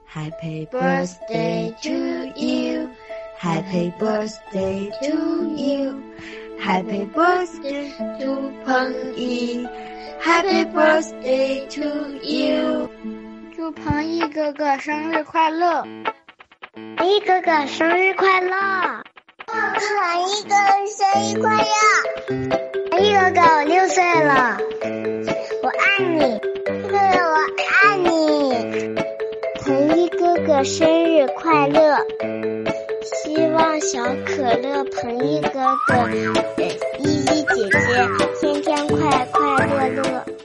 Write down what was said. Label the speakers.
Speaker 1: Happy birthday to you. Happy birthday to you. Happy birthday to 彭毅。Happy birthday to you.
Speaker 2: 祝彭毅哥哥生日快乐！
Speaker 3: 彭毅哥哥生日快乐！彭毅哥哥生日快乐！彭毅哥哥，我6岁了，我爱你，哥哥我爱你。彭毅哥哥生日快乐！希望小可乐、彭毅哥哥、依依姐姐天天快快乐乐。